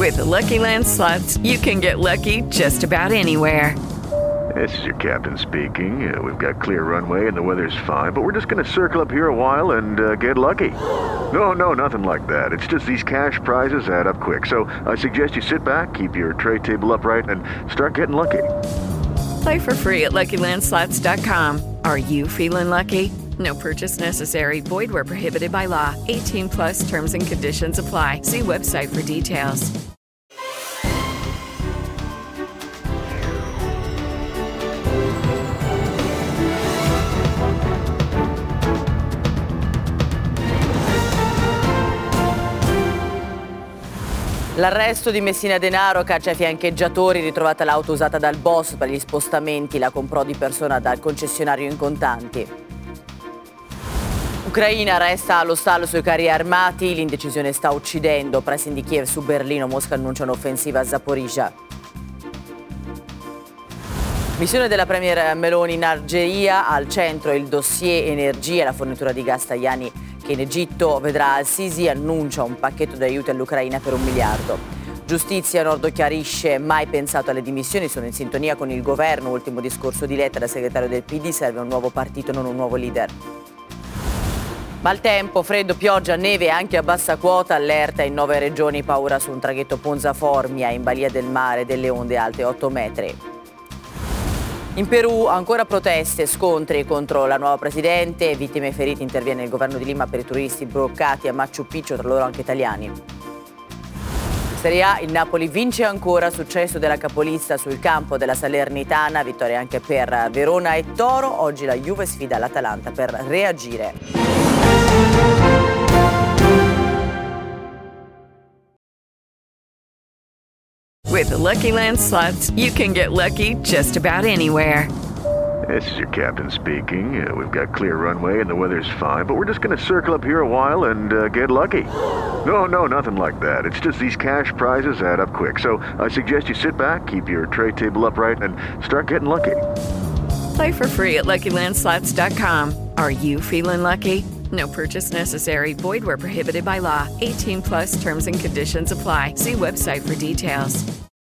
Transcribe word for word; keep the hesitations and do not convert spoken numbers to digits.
With the Lucky Land Slots, you can get lucky just about anywhere. This is your captain speaking. Uh, we've got clear runway and the weather's fine, but we're just going to circle up here a while and uh, get lucky. No, no, nothing like that. It's just these cash prizes add up quick. So I suggest you sit back, keep your tray table upright, and start getting lucky. Play for free at Lucky Land Slots dot com. Are you feeling lucky? No purchase necessary. Void where prohibited by law. eighteen plus terms and conditions apply. See website for details. L'arresto di Messina Denaro, caccia ai fiancheggiatori, ritrovata l'auto usata dal boss per gli spostamenti, la comprò di persona dal concessionario in contanti. Ucraina resta allo stallo sui carri armati, l'indecisione sta uccidendo, pressing di Kiev su Berlino, Mosca annuncia un'offensiva a Zaporizhzhia. Missione della premier Meloni in Algeria, al centro il dossier energia e la fornitura di gas Tajani che in Egitto vedrà Al-Sisi annuncia un pacchetto di aiuti all'Ucraina per un miliardo. Giustizia, Nordo chiarisce, mai pensato alle dimissioni, sono in sintonia con il governo, ultimo discorso di Letta da segretario del P D, serve un nuovo partito, non un nuovo leader. Maltempo, freddo, pioggia, neve anche a bassa quota, allerta in nove regioni, paura su un traghetto Ponza-Formia in balia del mare, delle onde alte otto metri. In Perù ancora proteste, scontri contro la nuova presidente, vittime e feriti, interviene il governo di Lima per i turisti bloccati a Machu Picchu, tra loro anche italiani. Serie A, il Napoli vince ancora, successo della capolista sul campo della Salernitana, vittoria anche per Verona e Toro, oggi la Juve sfida l'Atalanta per reagire. With the Lucky Land Slots, you can get lucky just about anywhere. This is your captain speaking. Uh, we've got clear runway and the weather's fine, but we're just going to circle up here a while and uh, get lucky. No, no, nothing like that. It's just these cash prizes add up quick. So I suggest you sit back, keep your tray table upright, and start getting lucky. Play for free at Lucky Land Slots dot com. Are you feeling lucky? No purchase necessary. Void where prohibited by law. eighteen plus terms and conditions apply. See website for details.